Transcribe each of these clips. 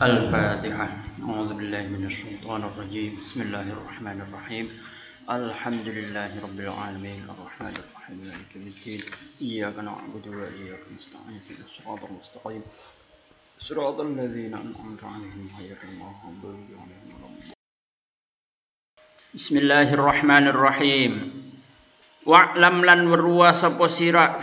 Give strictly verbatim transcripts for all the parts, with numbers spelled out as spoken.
الفاتحة. أعوذ بالله من الشيطان الرجيم. بسم الله الرحمن الرحيم. الحمد لله رب العالمين الرحمن الرحيم مالك يوم الدين إياك نعبد وإياك نستعين اهدنا الصراط المستقيم صراط الذين أنعمت عليهم غير المغضوب عليهم ولا الضالين. Bismillahirrahmanirrahim. Wa'lam lan weruwa sapa sira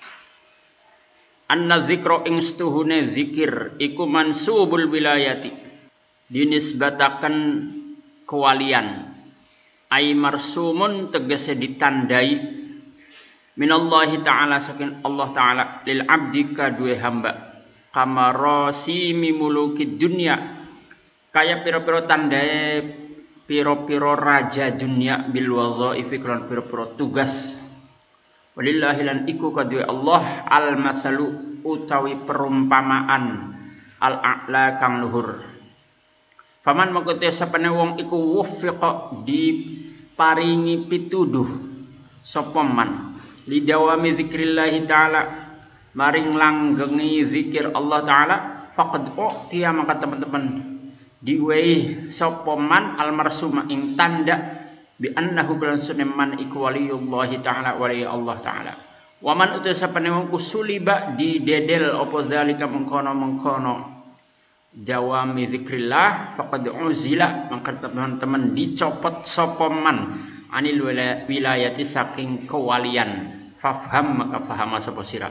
anna dzikra ing stuhune zikir iku mansubul wilayati dinisbataken kewalian ay marsumun tegese ditandai minallahi ta'ala saking Allah ta'ala lil abdi kadue hamba kamaro simi mulukid dunya kaya pira-pira tandae pira-pira raja dunya bil wadhaifi lan pira-pira tugas. Walillahi lan iku kadue Allah al masalu utawi perumpamaan al a'la kang luhur. Faman mengkote sapane wong iku wuffiqa diparingi pituduh sapa man lidawami zikrillah taala maring langgengi zikir Allah taala faqad u'tiya maka teman-teman diwehi sapa man al marsuma ing tanda bi annahu bilan suneman iku waliyullahi ta'ala wali Allah ta'ala. Wa man utus sapane wong kusuliba di dedel apa zalika mengkono-mengkono dawami zikrillah faqad uzila maka teman-teman dicopot sapa man anil wilayati saking kewalian. Fafham maka fahama sapa sira.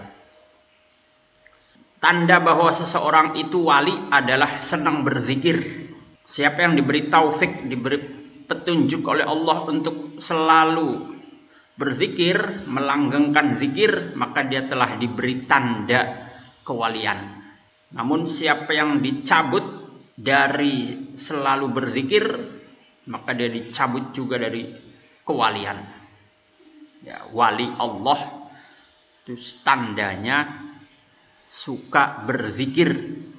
Tanda bahwa seseorang itu wali adalah senang berzikir. Siapa yang diberi taufik, diberi petunjuk oleh Allah untuk selalu berzikir, melanggengkan zikir, maka dia telah diberi tanda kewalian. Namun siapa yang dicabut dari selalu berzikir, maka dia dicabut juga dari kewalian. Ya, wali Allah itu tandanya suka berzikir.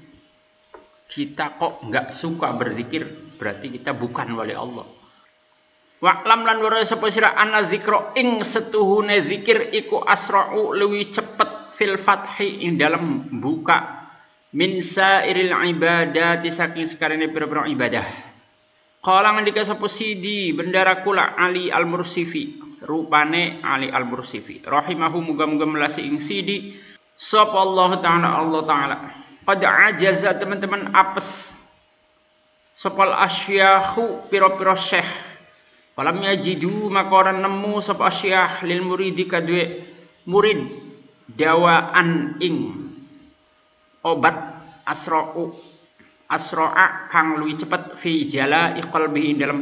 Kita kok nggak suka berzikir, berarti kita bukan wali Allah. Wa'lam lan weruh sapa sira ana dzikra ing setuhune zikir iku asra'u luwi cepet fil fathi ing dalam buka min sairil ibadati saking sekarene pira-pira ibadah. Qala ngendika sapa Sidi Bendara Kula Ali Al-Mursifi, rupane Ali Al-Mursifi rahimahu muga-muga melasi ing Sidi sapa Allah taala Allah taala qad ajaza teman-teman apes sopal asyakhu piro-piro syekh falam yajidu maka orang nemu sop asyakh lil muridi kadue murid dawaan ing obat asra'u asra'a kang luwih cepet fi jala qalbihi dalam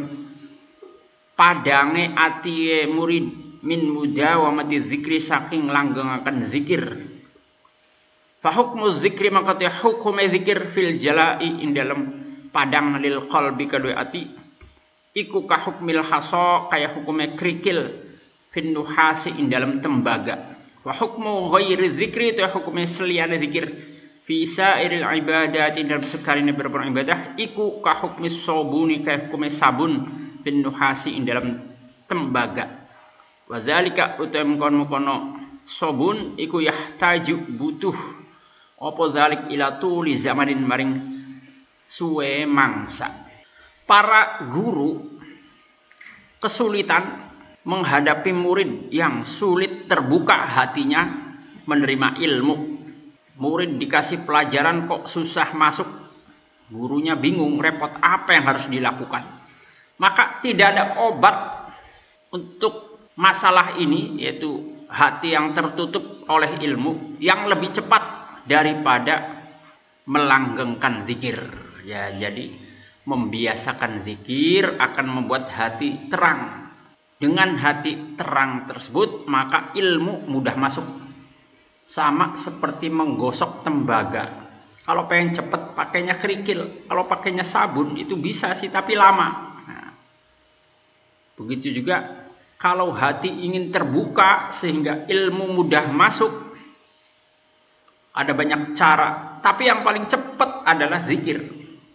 padange atiye murid min mudawamati zikri saking langgengaken zikir. Fa hukmu zikri maka te hukume zikir fil jala'i ing dalam padang lil qalbi kadue ati iku ka hukmil hasa kaya hukume krikil fin nuhasi ing dalam tembaga. Wa hukmu ghairi dzikri itu hukume seliyane zikir fi sairil ibadati dalam sekarine beberapa ibadah iku ka hukmi sabuni kaya hukume sabun fin nuhasi ing dalam tembaga. Wa zalika utam kono sabun iku yahtaju butuh apa zalik ila tuli zamanin maring suwe mangsa. Para guru kesulitan menghadapi murid yang sulit terbuka hatinya menerima ilmu. Murid dikasih pelajaran kok susah masuk, gurunya bingung repot apa yang harus dilakukan. Maka tidak ada obat untuk masalah ini, yaitu hati yang tertutup oleh ilmu, yang lebih cepat daripada melanggengkan zikir. Ya, jadi membiasakan zikir akan membuat hati terang. Dengan hati terang tersebut maka ilmu mudah masuk. Sama seperti menggosok tembaga. Kalau pengen cepat pakainya kerikil, kalau pakainya sabun itu bisa sih tapi lama. Nah, begitu juga kalau hati ingin terbuka sehingga ilmu mudah masuk, ada banyak cara, tapi yang paling cepat adalah zikir.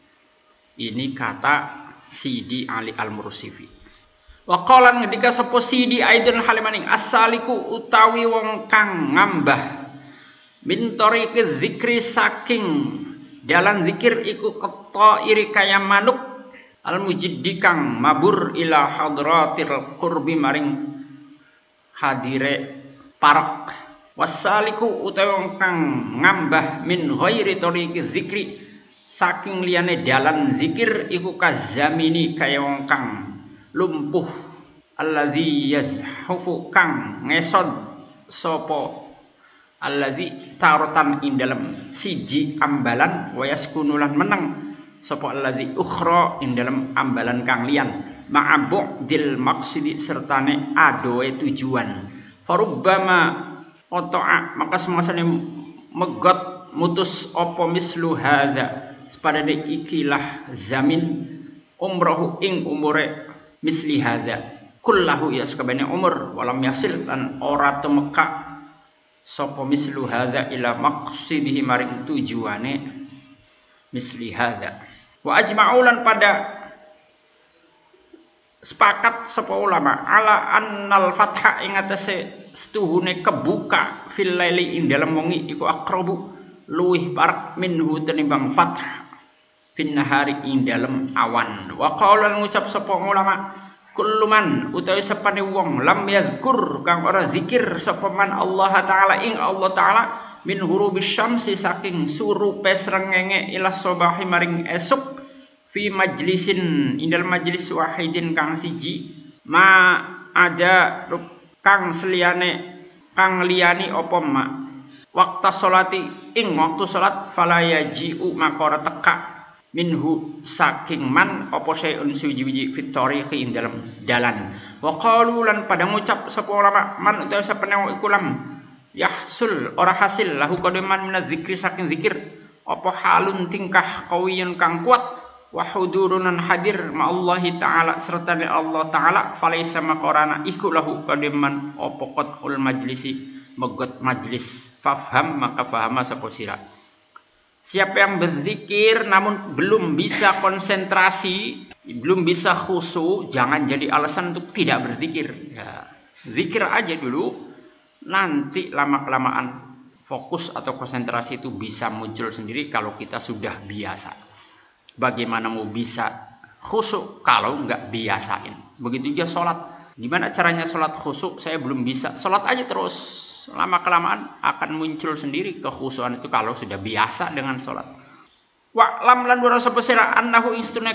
Ini kata Sidi Ali Al-Mursifi. Wa qala ngendika sapa Sidi aidun halimaning asaliku utawi wong kang ngambah min tariqiz zikri saking dalan zikir iku keta iri kaya manuk al mujiddi kang mabur ila hadratil qurbi maring hadire parek wasaliku utawi wong kang ngambah min ghairi tariqi zikri saking liyane dalan zikir iku kazamini kaya wong kang lumpuh alladzi yazhufu kang ngesod sapa alladzi tarotan ing dalem siji ambalan wa yaskunulan meneng sapa alladzi ukhra ing dalem ambalan kang liyan ma'abudil maqsidi sertane adoe tujuan farubbama oto'a maka semasane megot mutus apa mislu hadza sepadane ikilah zamin umrohu ing umure misli hadza kullahu ya sakabene umur walam yasil lan ora tumeka sapa mislu hadza ila maqsidihi maring tujuane misli hadza wa ajma'ulan pada sepakat sapa ulama ala annal fatha ing atase setuhune kebuka fil laili ing dalem wengi iku aqrabu luwih parek minhu tenimbang fathah fin nahari ing dalem awan wa qaula ngucap sapa ulama kulluman utawi sapane wong lam yazkur kang ora zikir sapa man Allah taala ing Allah taala min hurubis syamsi saking surupe srengenge ila sobahi maring esuk fi majlisin indal majlis wahidin kang siji ma ada kang seliyane kang liyani apa ma waktu salati ing waktu salat fala yaji'u maka ora teka minhu saking man apa sayun suwiji-wiji fit tariqi ing dalam dalan wa qalu lan pada ngucap sapa ulama man utawa sapane iku lam yahsul ora hasil lahu qademan minaz zikri saking zikir apa halun tingkah kawiyun kang kuat wa hudurunan hadir ma Allah taala serta Allah taala falaisa makorana iku lahu qademan apa qatul majlisi megot majlis fafham maka fahama sapa sira. Siapa yang berzikir namun belum bisa konsentrasi, belum bisa khusyuk, jangan jadi alasan untuk tidak berzikir. Ya, zikir aja dulu, nanti lama-kelamaan fokus atau konsentrasi itu bisa muncul sendiri kalau kita sudah biasa. Bagaimana mau bisa khusyuk kalau nggak biasain? Begitu juga sholat. Gimana caranya sholat khusyuk? Saya belum bisa. Sholat aja terus. Lama-kelamaan akan muncul sendiri kekhusyuan itu kalau sudah biasa dengan sholat. Wa lam lan ora sepesira annahu instunek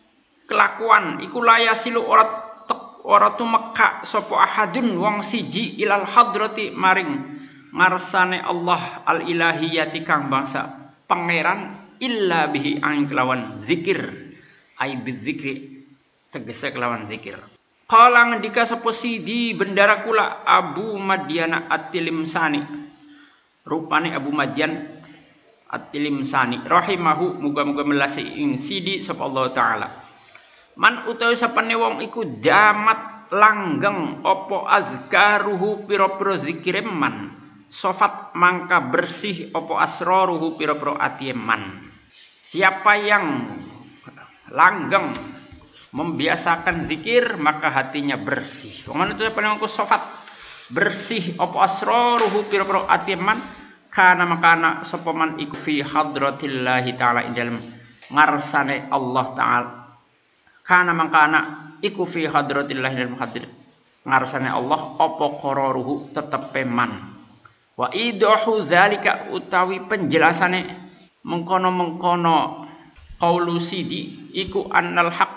kelakuan iku layasilu ora ora tumeka sapa ahadun wong siji ilal hadrati maring ngarsane Allah al ilahiyati kang bangsa pangeran illa bihi ang kelawan zikir ai bizikri tegese kelawan zikir. Qala ngendika sapa sidi bendara kula Abu Madyan At-Tilimsani rupane Abu Madyan At-Tilimsani rahimahu muga-muga melasi ing sidi sapa Allah taala man utawi sapane wong iku damat langgeng apa azkaruhu pira-pira zikire man sofat mangka bersih apa asraruhu pira-pira atiye man siapa yang langgeng membiasakan zikir maka hatinya bersih. Wong itu paling aku sofat bersih apa asraruhu pira-pira atiman kana makana sapa man iku fi hadratillahi taala ing dalem ngarsane Allah taala kana makana iku fi hadratillahi dalem hadir ngarsane Allah apa qararuhu tetepe man wa idahu zalika utawi penjelasane mengkono-mengkono qaulu sidi iku annal haqq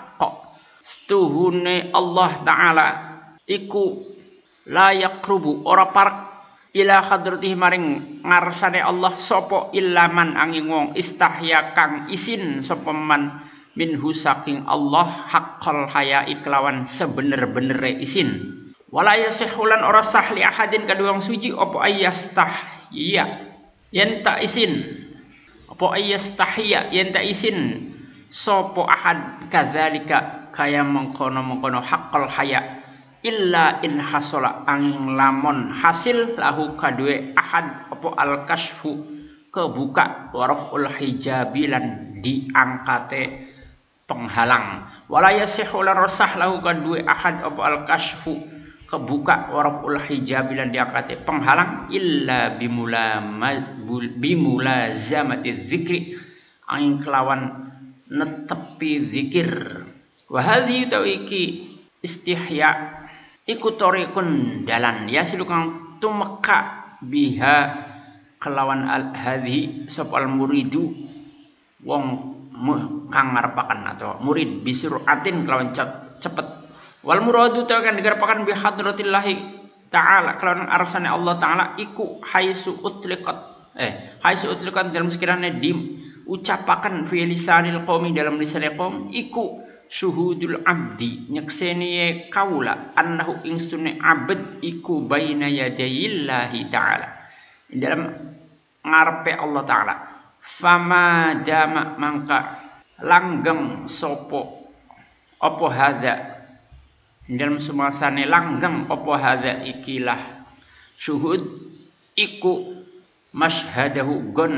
setuhune Allah taala iku la yaqrubu ora parek ila hadratihi maring ngarsane Allah sapa illaman angin wong istahya kang isin sapa man minhu saking Allah haqqal haya iklawan sebener-benere isin wala yasihulan ora sah li ahadin kadua wong suci apa ayastahya yen tak isin apa ayastahya yen tak isin sapa ahad kadzalika kaya mengkono-mengkono haqqal haya illa in hasala ang lamun hasil lahu kadue ahad apa al kasfu kebuka waraful hijabilan diangkate penghalang wala yasihu lan rasah lahu kadue ahad apa al kasfu kebuka waraful hijabilan diangkate penghalang illa bimula bimulazamati dzikri angin kelawan netepi zikir. Wa hadhi tawiki istihya iku tariqun dalan yasilu kang tumeka biha kelawan al hadhi sapa al muridu wong kang ngarepaken atau murid bisuratin kelawan cepet. Wal muradu ta kan digarepaken bi hadratillahi ta'ala kelawan arsane Allah taala iku haisu utliqat eh haisu utliqat dalam sekiranya di ucapaken fi lisanil qaumi dalam lisanil qaum iku syuhudul abdi nyekseni kaula annahu ingstune abd iku baina yadayillahi ta'ala dalam ngarepe Allah taala. Fama dama mangka langgeng sopo opo hadza dalam sumasane langgeng opo hadza ikilah syuhud iku masyhadahu gon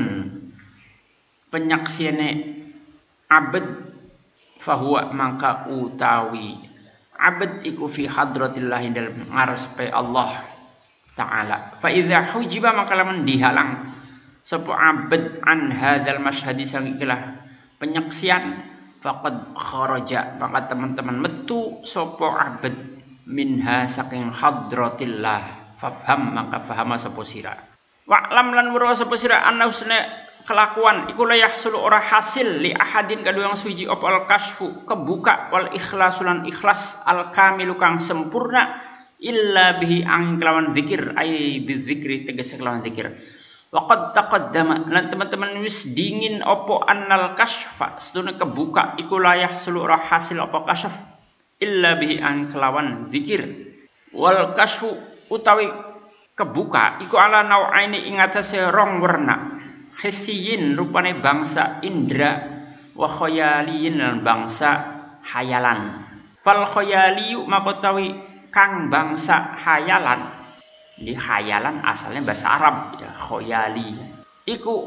penyaksiane abd fahuwa mangka utawi abd iku fi hadratillah dalam ngarspe Allah taala. Fa idza hujiba maka lamun dihalang sapa abd an hadzal masyhadi sangilah penyaksian faqad kharaja maka teman-teman metu sapa abd minha saking hadratillah fafham maka fahama sapa sira wa'lam lan weruh sapa sira anna husna kelakuan iku la yahsulu ora hasil li ahadin kadua yang suci apa al kasfu kebuka wal ikhlasulan ikhlas al kamilu kang sempurna illa bihi ang kelawan zikir ay bizikri tegese kelawan zikir. Waqad taqaddama lan teman-teman wis dingin opo annal kasfa sedune kebuka iku layah seluruh hasil opo kasf illa bihi an kelawan zikir. Wal kasfu utawi kebuka iku ala nau'aini ing atase rong werna hissiyin rupane bangsa indra wa khayaliyin lan bangsa hayalan. Fal khayaliyu makotawi kang bangsa hayalan di khayalan asalnya bahasa Arab ya khoyali iku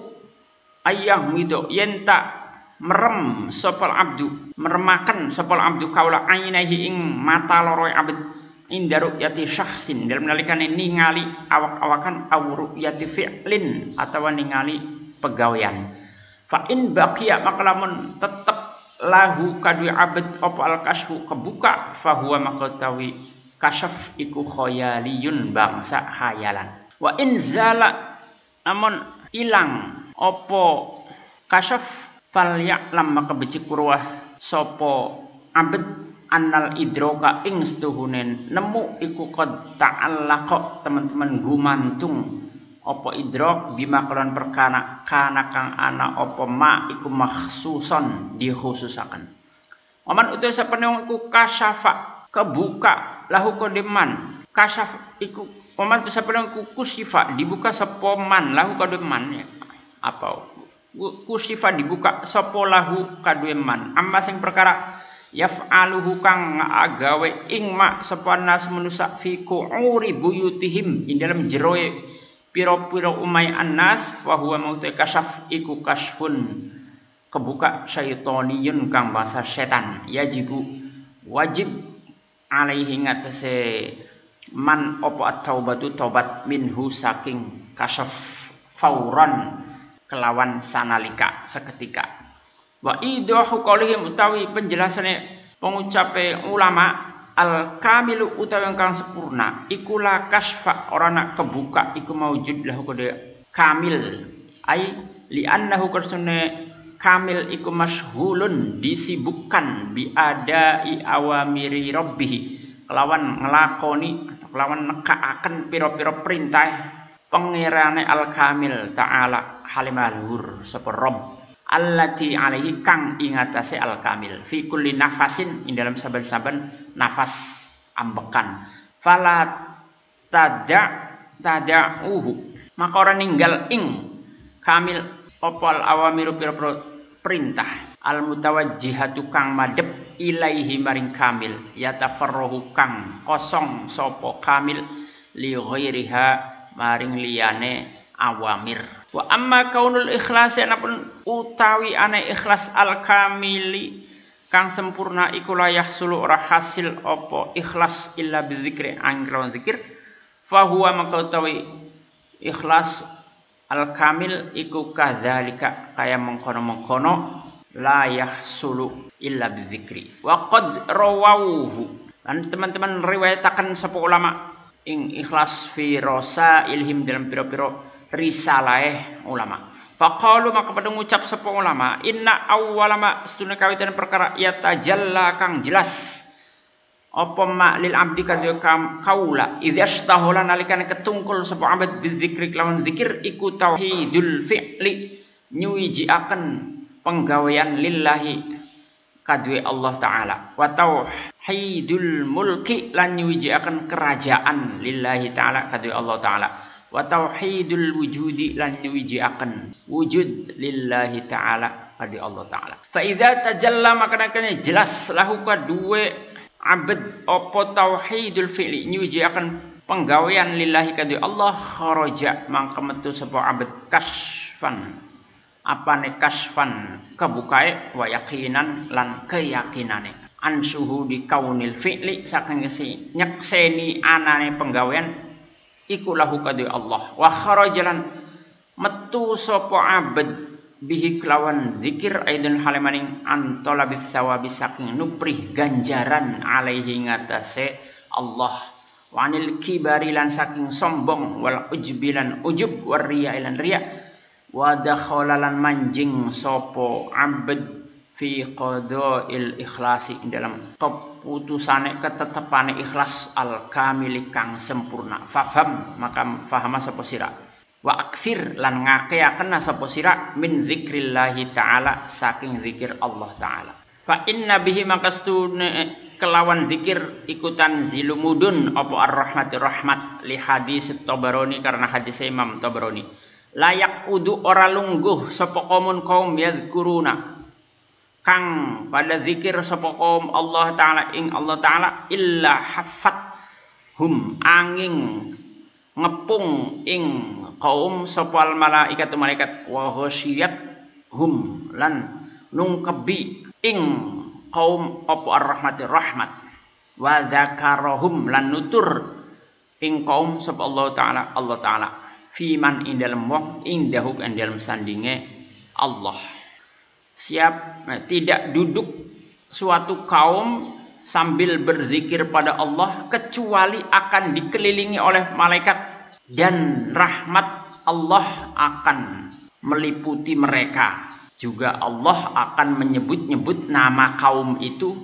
ayang wido yenta merem sopal abdu meremakan sopal abdu kaula ainahi ing mata loro abd indaru yati syakhsin dalam nalikane ningali awak-awakan awru yati fi'lin atawa ningali pegawean fa in baqiya maka lamun tetep lahu kadui abd apa al kasfu kebuka fahuwa makatawi kasyaf iku khayaliyun bangsa hayalan. Wa in zala namun ilang opo kasyaf fal ya'lam maka becik kurwah sopo abd annal idroka ing setuhunen nemu iku qad ta'allaqa teman-teman gumantung opo idrok bima kelawan perkana kana kang ana opo ma iku makhsuson dikhususaken. Waman utus sapenung iku kasyafa kebuka lahu kodeman kasyaf iku oman tu sapenung iku kusifa dibuka sepoman lahu kodeman ya apa kusifa dibuka sapa lahu kademan amma sing perkara yaf'aluhu kang agawe ing mak sapa nas manusa fi qu'uri buyutihim ing dalam jeroe pira-pira umay annas fa huwa mauta kasyaf iku kasyfun kebuka syaitoniyun kang bangsa setan yajibu wajib alaihi ngatese man opo at-taubatu taubat minhu saking kasyaf fauran kelawan sanalika seketika. Wa idahu qaulihim utawi penjelasane pengucape ulama al kamilu utawi kang sempurna iku la kasfa ora nak kebuka iku maujud lahu kode kamil ai li annahu kursune kamil iku masyhulun disibukkan bi adai awamiri rabbih kelawan ngelakoni atau kelawan nekaaken pira-pira perintah pangerane al kamil taala halimalhur sapa rabb allati alaihi kang ingatase al kamil fi kulli nafasin ing dalam saben-saben nafas ambekan fala tada tada'uhu maka ora ninggal ing kamil opal awamiru pira-pira perintah al mutawajjihatu kang madhep ilaihi maring kamil yatafarrahu kang kosong sapa kamil li ghairiha maring liyane awamir. Wa amma kaunul ikhlas anapun utawi ane ikhlas al kamili kang sempurna iku la yahsulu ora hasil apa ikhlas illa bizikri angkron zikir fa huwa maka utawi ikhlas al kamil iku kadzalika kaya mengkono-mengkono la yahsulu illa bizikri wa qad rawauhu. Dan teman-teman riwayataken sapa ulama ing ikhlas fi rosa ilhim dalam piro-piro risalah ulama. Faqalu maka pada ngucap sapa ulama inna awwalama setune kawitan perkara yatajalla kang jelas apa ma lil abdi kadya kaula idzastahula nalikane ketungkul sapa abad bizikri lawan zikir iku tauhidul fi'li nyuwijiaken penggawean lillahi kadue Allah taala wa tauhidul mulki lan nyuwijiaken kerajaan lillahi taala kadue Allah taala wa tauhidul wujudi lan nyuwijiaken wujud lillahi taala kadue Allah taala. Fa idza tajalla maka nakane jelas lahu kadue abad apa tauhidul fi'li nyuji akan penggawean lillahi kadhi Allah kharaja mangka metu sapa abad kasfan apane kasfan kebukae wa yaqinan lan keyakinane an syuhudi kaunil fi'li saking si nyekseni anane penggawean iku lahu kadhi Allah wa kharaja lan metu sapa abad bihi kelawan zikir aidun halemaning antolabis sawabi saking nuprih ganjaran alaihi ngatasé Allah wanil kibari lan saking sombong wal ujbilan ujub wariya lan riya wa dakhalalan manjing sopo abad fi qadail ikhlasi dalam keputusane ketetepane ikhlas al kamili kang sempurna faham maka fahama sapa sira wa akthir lan ngakeaken sapa sira min zikrillahi taala saking zikir Allah taala fa inna bihi makastune kelawan zikir ikutan zilumudun apa ar-rahmatir rahmat li hadis Tabarani karena hadis Imam Tabarani layak udu ora lungguh sapa kaumun kaum yadhkuruna kang pada zikir sapa kaum Allah taala ing Allah taala illa haffat hum angin ngepung ing kaum sopal malaikat malaikat wa ghasyiyat hum lan nungkebi ing kaum apa ar-rahmatir rahmat wa dzakarahum lan nutur ing kaum sapa Allah taala Allah taala fiman ing dalem wong ing dahuk ing dalem sandinge Allah siap nah, tidak duduk suatu kaum sambil berzikir pada Allah kecuali akan dikelilingi oleh malaikat dan rahmat Allah akan meliputi mereka. Juga Allah akan menyebut-nyebut nama kaum itu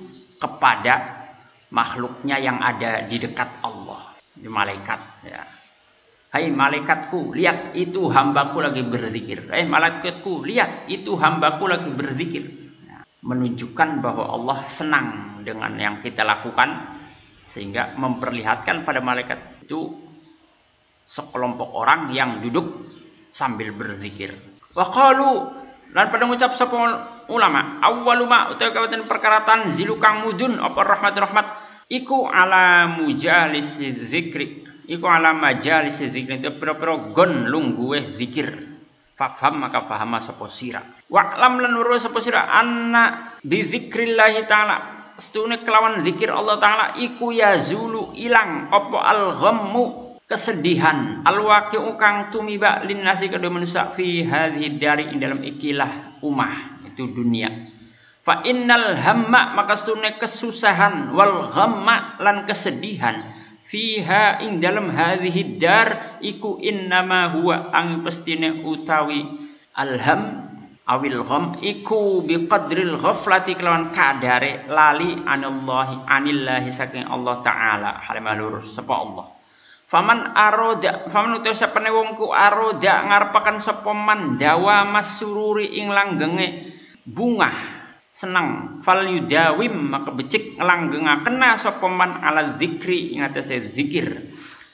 kepada makhluknya yang ada di dekat Allah. Di malaikat ya. Hai malaikatku, lihat itu hambaku lagi berzikir. Hai malaikatku, lihat itu hambaku lagi berzikir. Ya. Menunjukkan bahwa Allah senang dengan yang kita lakukan sehingga memperlihatkan pada malaikat itu sekelompok orang yang duduk sambil berzikir. Wa qalu lan pada ngucap sapa ulama awwalu ma utawa kawatan perkaratan zilukang mudun apa rahmat rahmat iku ala mujalis zikri iku ala majalis zikri itu pira-pira gon lungguhe zikir faham maka fahama sapa sira wa lam lan weruh sapa sira anna bi zikrillah taala setune kelawan zikir Allah taala iku yazulu ilang apa al ghammu kesedihan al-waqi'u kang tumiba linnasi kedua manusia fi hadhihi dari dalam ikilah umah itu dunia fa innal hamma maka setune kesusahan wal ghamma lan kesedihan fiha ing dalam hadhihi dar iku innama huwa ang pestine utawi alham awil gham iku biqadril ghaflati kelawan kadare lali anallahi anillahi saking Allah taala halimalur sapa Allah. Faman aroda, faman utawa sapane wong ku aroda ngarepaken sapa man dawa masururi ing langgenge bunga seneng fal yudawim maka becik nglanggengaken sapa man ala zikri ing atase zikir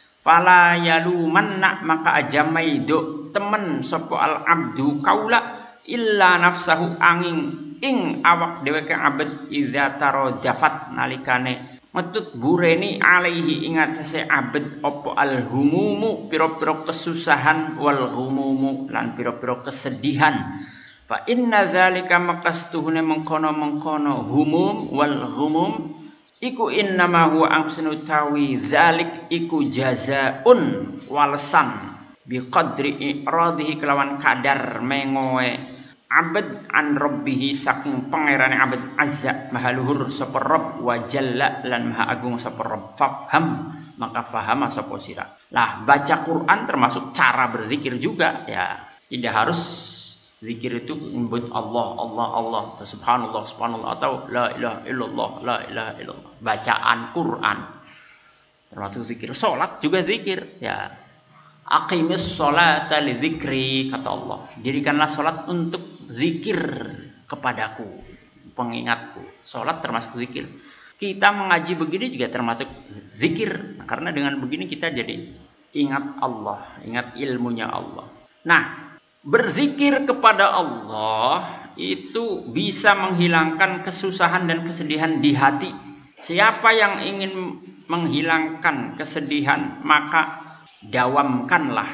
fala yalumanna maka aja maido temen sapa al abdu kaula illa nafsahu angin ing awak dheweke abad idza tarodafat nalikane metut bureni alaihi ingatase abad opo al humumu piro-piro kesusahan wal humumu lan piro-piro kesedihan fa inna dzalika makastuhune mengkono-mengkono humum wal humum iku innama huwa amsunu tawi dzalik iku jazaun walesan biqadri iradihi kelawan kadar mengoe abad an rabbihi saking pangerane abad azza maha luhur sapa rabb wa jalla lan maha agung sapa rabb fafham maka fahama sapa sira. Lah baca Quran termasuk cara berzikir juga ya. Tidak harus zikir itu menyebut Allah Allah Allah atau subhanallah subhanallah atau la ilaha illallah la ilaha illallah. Bacaan Quran termasuk zikir. Salat juga zikir ya. Aqimis sholata li dzikri kata Allah. Dirikanlah salat untuk zikir kepadaku, pengingatku. Salat termasuk zikir. Kita mengaji begini juga termasuk zikir. Karena dengan begini kita jadi ingat Allah, ingat ilmunya Allah. Nah, berzikir kepada Allah itu bisa menghilangkan kesusahan dan kesedihan di hati. Siapa yang ingin menghilangkan kesedihan, maka dawamkanlah,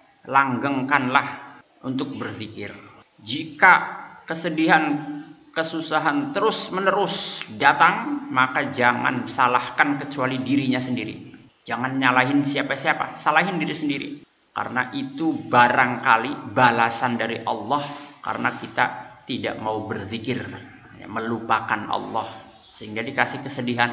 langgengkanlah untuk berzikir. Jika kesedihan, kesusahan terus menerus datang, maka jangan salahkan kecuali dirinya sendiri. Jangan nyalahin siapa-siapa, salahin diri sendiri. Karena itu barangkali balasan dari Allah karena kita tidak mau berzikir, melupakan Allah, sehingga dikasih kesedihan,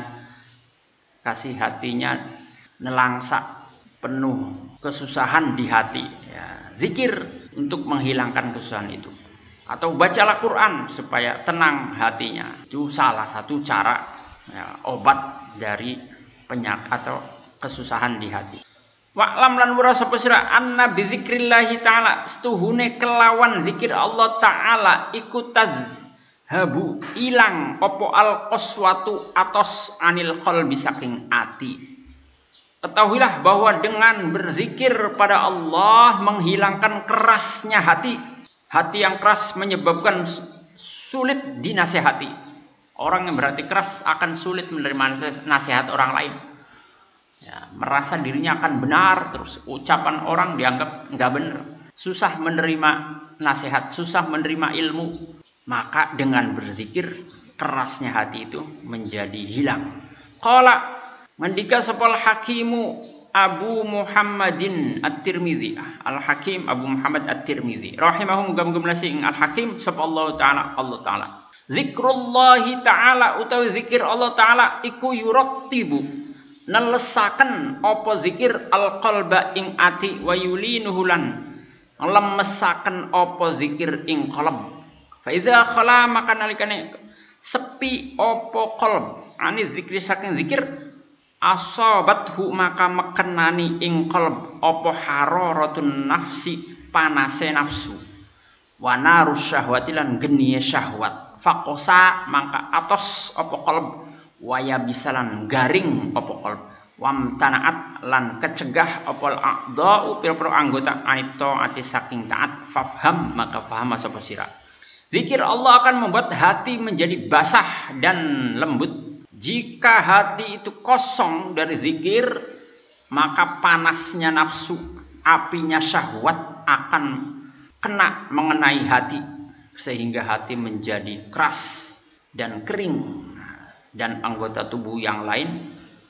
kasih hatinya nelangsa, penuh kesusahan di hati ya, zikir untuk menghilangkan kesusahan itu. Atau bacalah Quran supaya tenang hatinya. Itu salah satu cara ya, obat dari penyakit atau kesusahan di hati. Wa'lam lan wura sapa sira anna bi dzikrillahi ta'ala setuhune kelawan zikir Allah taala iku tadhabu ilang apa al qaswatu atos anil qalbi saking ati. Ketahuilah bahwa dengan berzikir pada Allah menghilangkan kerasnya hati. Hati yang keras menyebabkan sulit dinasehati. Orang yang berhati keras akan sulit menerima nasihat orang lain. Ya, merasa dirinya akan benar, terus ucapan orang dianggap nggak benar. Susah menerima nasihat, susah menerima ilmu. Maka dengan berzikir kerasnya hati itu menjadi hilang. Qala mandika sapal hakimu Abu Muhammadin At-Tirmidzi. Al-Hakim Abu Muhammad At-Tirmidzi rahimahum gam-gam ing Al-Hakim sapa Allah taala Allah taala. Zikrullahi taala utawi zikir Allah taala iku yurattibu nelesaken apa zikir al-qalba ing ati wa yulinuhu lan lemesaken apa zikir ing qalb. Fa iza khala maka nalikane sepi apa qalb ani zikri saking zikir asabathu maka mekenani ing qalb apa hararatun nafsi panase nafsu wa narus syahwati lan geniye syahwat faqosa maka atos apa qalb waya bisalan garing apa qalb wamtanaat lan kecegah apa a'dha'u pira-pira anggota anito ati saking taat fafham maka faham sapa sira. Zikir Allah akan membuat hati menjadi basah dan lembut. Jika hati itu kosong dari zikir, maka panasnya nafsu, apinya syahwat akan kena mengenai hati. Sehingga hati menjadi keras dan kering. Dan anggota tubuh yang lain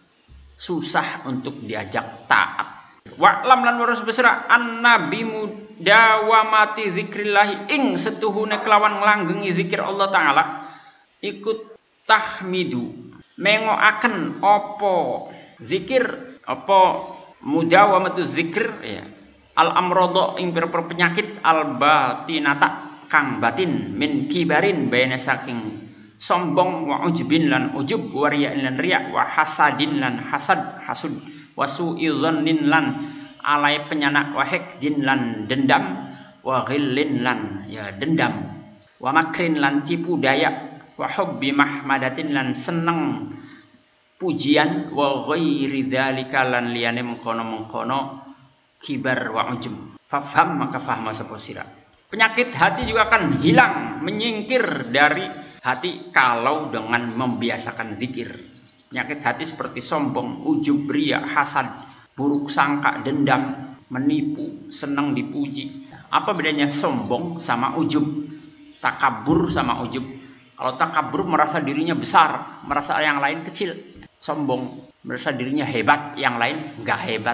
susah untuk diajak taat. Wa'lam lan warus besra an-nabi mudawamati zikrillahi ing setuhune kelawan nglanggengi zikir Allah Ta'ala ikut tahmidu mengoaken opo zikir opo mudawamatu zikir ya al amrodo ing pira-pira penyakit al batinata kang batin min kibarin bayane saking sombong wa ujbin lan ujub wa riya lan riya wa hasadin lan hasad hasud wa su'idzannin lan alai penyanak wa hikdin lan dendam wa ghillin lan ya dendam wa makrin lan tipu daya wa hubbi mahmadatin lan seneng pujian wa ghairi dzalika lan liyane mengkono-mengkono kibar wa ujub fafham maka fahma sapa sira. Penyakit hati juga akan hilang menyingkir dari hati kalau dengan membiasakan zikir. Penyakit hati seperti sombong, ujub, riya, hasad, buruk sangka, dendam, menipu, senang dipuji. Apa bedanya sombong sama ujub? Takabur sama ujub. Kalau takabur merasa dirinya besar, merasa yang lain kecil. Sombong merasa dirinya hebat, yang lain enggak hebat.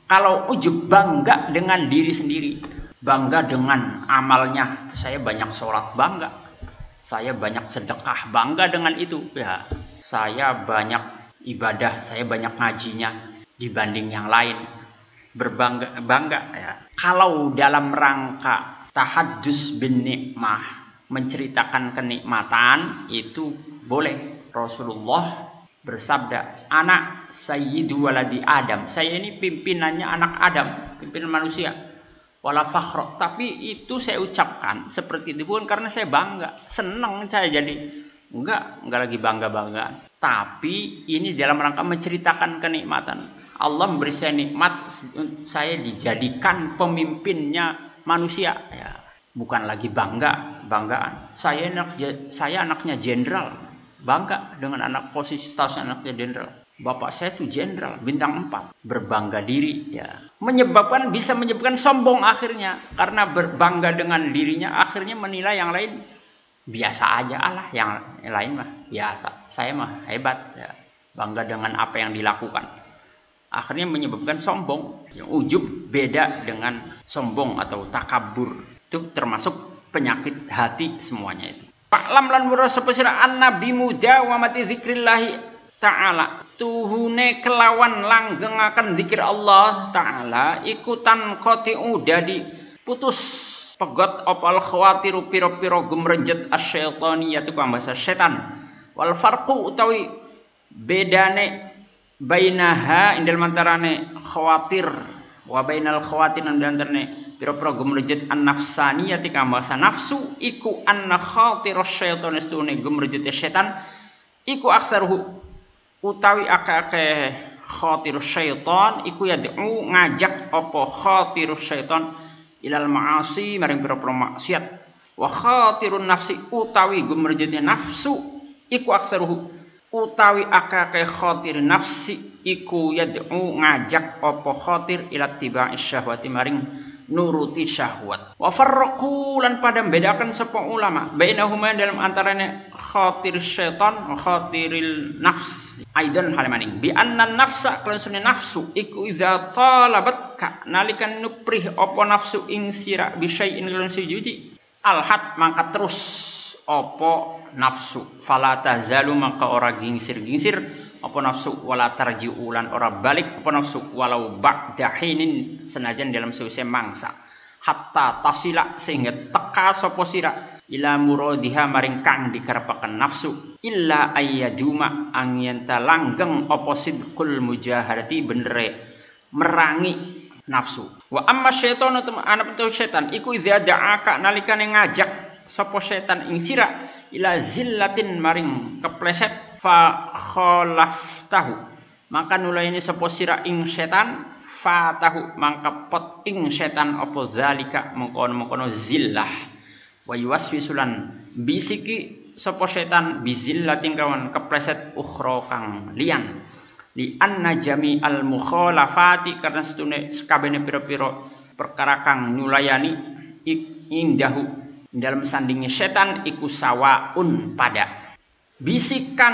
Kalau ujub, bangga dengan diri sendiri, bangga dengan amalnya. Saya banyak sholat, bangga. Saya banyak sedekah, bangga dengan itu. Ya, saya banyak ibadah, saya banyak ngajinya dibanding yang lain, berbangga bangga. Ya. Kalau dalam rangka tahaddus bin nikmah, menceritakan kenikmatan, itu boleh. Rasulullah bersabda, anak sayyidu waladi Adam, saya ini pimpinannya anak Adam, pimpinan manusia. Wala fakhra, tapi itu saya ucapkan seperti itu bukan karena saya bangga, senang saya jadi. Enggak, enggak lagi bangga-banggaan. Tapi ini dalam rangka menceritakan kenikmatan. Allah memberi saya nikmat, saya dijadikan pemimpinnya manusia. Ya, bukan lagi bangga, banggaan. Saya anak saya anaknya jenderal, bangga dengan anak posisi status anaknya jenderal. Bapak saya itu jenderal bintang empat, berbangga diri. Ya, menyebabkan bisa menyebabkan sombong akhirnya, karena berbangga dengan dirinya akhirnya menilai yang lain biasa aja, Allah yang lain mah biasa, saya mah hebat. Ya, bangga dengan apa yang dilakukan, akhirnya menyebabkan sombong. Yang ujub beda dengan sombong atau takabur, itu termasuk penyakit hati semuanya itu. Fa'lam lan mura sapa sira annabi muda wa mati zikrillahi ta'ala, tuhune kelawan langgengaken zikir Allah ta'ala ikutan qati'u dadi putus pegot opal khawatiru piro-piro gumrejet asyaitaniyatu ku bahasa setan. Wal farqu utawi bedane bainaha indal mantarane khawatir wa bainal khawatir lan antarane piro-piro gumrejet an nafsaniyati ka bahasa nafsu iku anna khatir asyaitan istune gumrejet setan iku aksaruhu utawi akeh-akeh khatir syaitan iku yad'u ngajak apa khatir syaitan ilal ma'asi maring pira-pira maksiat. Wa khatirun nafsi utawi gumrejete nafsu iku aksaruhu utawi akeh khatir nafsi iku yad'u ngajak apa khatir ila tiba'i syahwati maring nuruti syahwat. Wa farraqu lan pada membedakan sapa ulama bainahuma dalam antaranya khatir syaitan wa khatiril nafs aidan halamaning bi anna nafsa kalau sunne nafsu iku idza talabat ka nalikan nuprih apa nafsu ing sira bi syai'in lan sujuji alhat mangka terus apa nafsu fala tazalu maka ora gingsir-gingsir apa nafsu wala tarji'u lan ora balik apa nafsu walau ba'da hinin senajan dalam sause mangsa hatta tasila sehingga teka sapa sira ila muradiha maring kang dikarepaken nafsu illa ayyaduma angyen langgeng apa sidqul mujahadati benere merangi nafsu. Wa amma syaitan atau anak itu setan iku idza da'aka nalikane ngajak sapa setan ing sira ila zillatin maring kepleset fa khalaftahu maka nulaini sapa sira ing setan fatahu mangka pot ing setan apa zalika mengkono-mengkono zillah wa yuwaswisulan bisiki sapa setan bizillatin kawan kepleset ukhra kang liyan li anna jami'al mukhalafati karena setune sakabehane pira-pira perkara kang nulayani indahu dalam sandingnya setan iku sawaun pada bisikan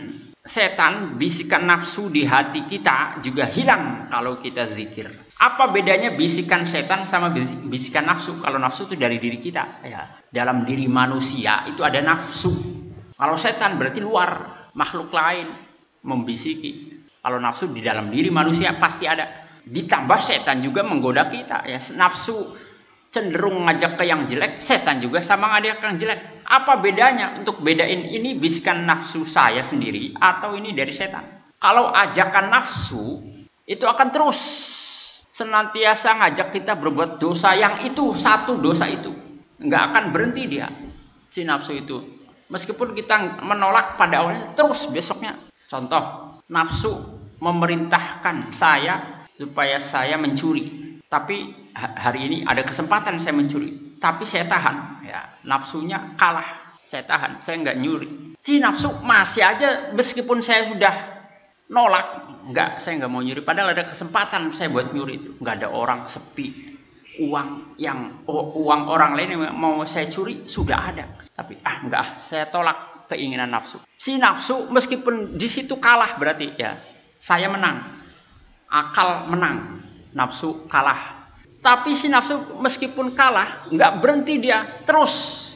setan, bisikan nafsu di hati kita juga hilang kalau kita zikir. Apa bedanya bisikan setan sama bisikan nafsu? Kalau nafsu itu dari diri kita, ya. Dalam diri manusia itu ada nafsu. Kalau setan berarti luar, makhluk lain membisiki. Kalau nafsu di dalam diri manusia pasti ada. Ditambah setan juga menggoda kita, ya. Nafsu cenderung ngajak ke yang jelek, setan juga sama ngajak ke yang jelek. Apa bedanya untuk bedain ini bisikan nafsu saya sendiri atau ini dari setan? Kalau ajakan nafsu itu akan terus senantiasa ngajak kita berbuat dosa yang itu, satu dosa itu. Nggak akan berhenti dia, si nafsu itu. Meskipun kita menolak pada awalnya, terus besoknya. Contoh, nafsu memerintahkan saya supaya saya mencuri. Tapi hari ini ada kesempatan saya mencuri, tapi saya tahan, ya nafsunya kalah, saya tahan, saya nggak nyuri. Si nafsu masih aja meskipun saya sudah nolak, nggak, saya nggak mau nyuri. Padahal ada kesempatan saya buat nyuri itu, nggak ada orang, sepi, uang yang oh, uang orang lain yang mau saya curi sudah ada, tapi ah nggak, saya tolak keinginan nafsu. Si nafsu meskipun di situ kalah berarti ya saya menang, akal menang. nafsu kalah. Tapi si nafsu meskipun kalah, nggak berhenti dia, terus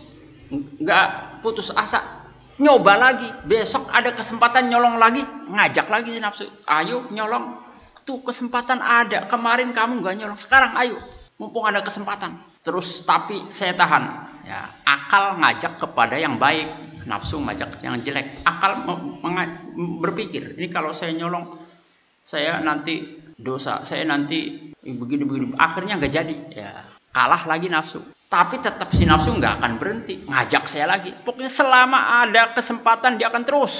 nggak putus asa, nyoba lagi. Besok ada kesempatan nyolong lagi, ngajak lagi si nafsu, ayo nyolong, tuh kesempatan ada, kemarin kamu nggak nyolong, sekarang ayo, mumpung ada kesempatan. Terus tapi saya tahan, ya, akal ngajak kepada yang baik, nafsu ngajak yang jelek. Akal berpikir, ini kalau saya nyolong, saya nanti dosa, saya nanti begini-begini, akhirnya nggak jadi, ya kalah lagi nafsu. Tapi tetap si nafsu nggak akan berhenti, ngajak saya lagi. Pokoknya selama ada kesempatan dia akan terus,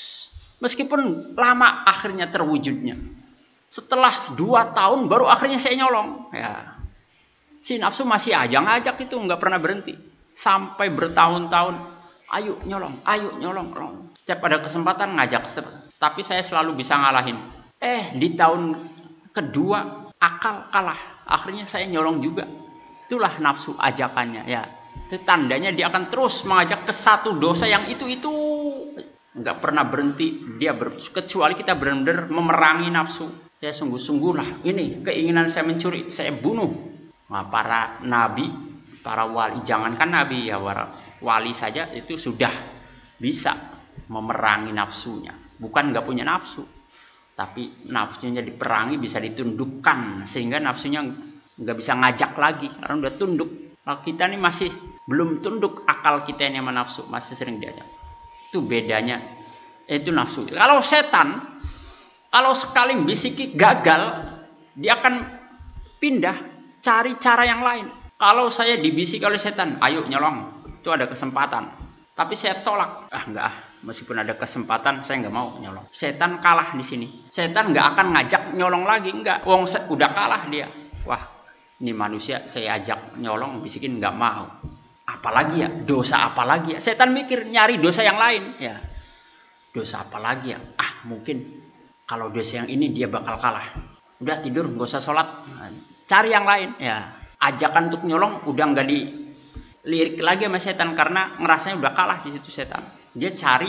meskipun lama akhirnya terwujudnya. Setelah dua tahun baru akhirnya saya nyolong, ya si nafsu masih aja ngajak itu, nggak pernah berhenti sampai bertahun-tahun. Ayo nyolong, ayo nyolong, nyolong. Setiap ada kesempatan ngajak, tapi saya selalu bisa ngalahin. Eh di tahun kedua akal kalah, akhirnya saya nyolong juga. Itulah nafsu ajakannya, ya. Itu tandanya dia akan terus mengajak ke satu dosa yang itu itu nggak pernah berhenti dia ber, kecuali kita benar-benar memerangi nafsu. Saya sungguh-sungguh lah, ini keinginan saya mencuri, saya bunuh. Nah, para nabi, para wali, jangankan nabi ya, wali saja itu sudah bisa memerangi nafsunya. Bukan nggak punya nafsu, tapi nafsunya diperangi, bisa ditundukkan sehingga nafsunya nggak bisa ngajak lagi karena udah tunduk. Kalau kita ini masih belum tunduk, akal kita ini sama nafsu masih sering diajak. Itu bedanya, itu nafsu. Kalau setan, kalau sekali bisiki gagal, dia akan pindah cari cara yang lain. Kalau saya dibisik oleh setan, ayo nyolong, itu ada kesempatan, tapi saya tolak, ah enggak ah, meskipun ada kesempatan saya nggak mau nyolong. Setan kalah di sini. Setan nggak akan ngajak nyolong lagi, enggak. Wong udah kalah dia. Wah, ini manusia saya ajak nyolong, bisikin nggak mau. Apalagi ya, dosa apa lagi ya? Setan mikir nyari dosa yang lain. Ya, dosa apa lagi ya? Ah mungkin kalau dosa yang ini dia bakal kalah. Udah tidur, nggak usah sholat. Nah, cari yang lain. Ya, ajakan untuk nyolong udah nggak dilirik lagi sama setan karena ngerasanya udah kalah di situ setan. Dia cari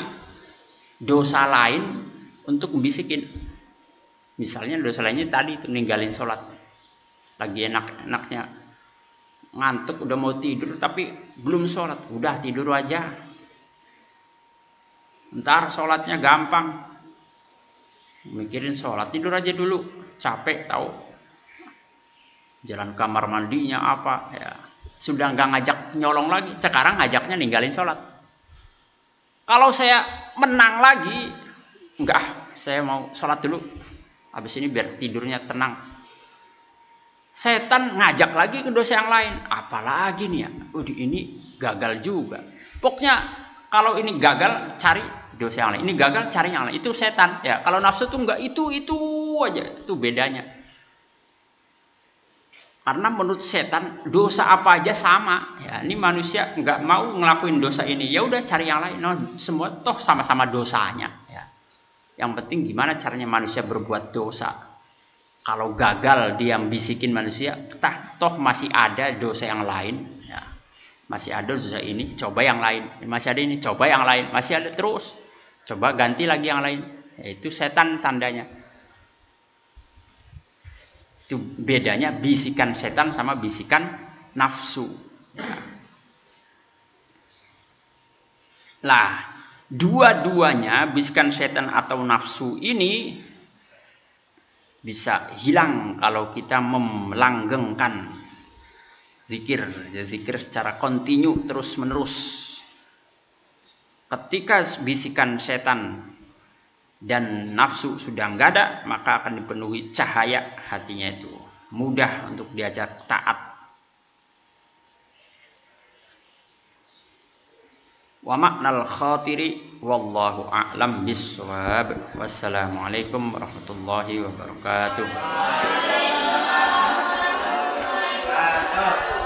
dosa lain untuk membisikin. Misalnya dosa lainnya tadi itu ninggalin sholat. Lagi enak-enaknya ngantuk udah mau tidur tapi belum sholat, udah tidur aja, ntar sholatnya gampang, mikirin sholat, tidur aja dulu, capek tahu, jalan kamar mandinya apa, ya sudah nggak ngajak nyolong lagi. Sekarang ngajaknya ninggalin sholat. Kalau saya menang lagi, enggak, saya mau sholat dulu, habis ini biar tidurnya tenang. Setan ngajak lagi ke dosa yang lain. Apalagi nih ya, oh, ini gagal juga. Pokoknya kalau ini gagal, cari dosa yang lain. Ini gagal, cari yang lain. Itu setan. Ya, kalau nafsu tuh enggak, itu itu aja. Itu bedanya. Karena menurut setan dosa apa aja sama. Ya, ini manusia nggak mau ngelakuin dosa ini. Ya udah cari yang lain. Nah, semua toh sama-sama dosanya. Ya. Yang penting gimana caranya manusia berbuat dosa. Kalau gagal dia bisikin manusia, tah, toh masih ada dosa yang lain, ya. Masih ada dosa ini, coba yang lain. Masih ada ini, coba yang lain. Masih ada terus, coba ganti lagi yang lain. Ya, itu setan tandanya. Itu bedanya bisikan setan sama bisikan nafsu. Ya. Lah, dua-duanya bisikan setan atau nafsu ini bisa hilang kalau kita melanggengkan zikir, ya, zikir secara kontinu terus menerus. Ketika bisikan setan dan nafsu sudah nggak ada, maka akan dipenuhi cahaya hatinya itu, mudah untuk diajak taat. Wa ma'nal khatiri wallahu a'lam bissawab. Wassalamualaikum warahmatullahi wabarakatuh.